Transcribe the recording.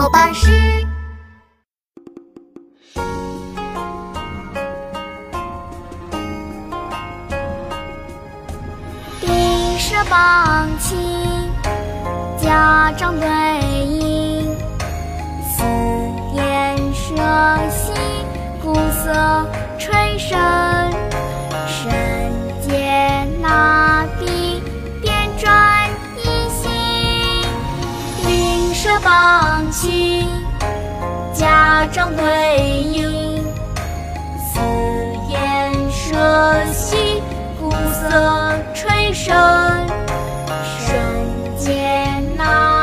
巴士。bình是棒琴，家长对饮，四面射喜，鼓瑟吹笙，绳结拿笔，编撰一行。bình是棒琴，家长对饮，四面射喜，鼓瑟吹笙，绳结拿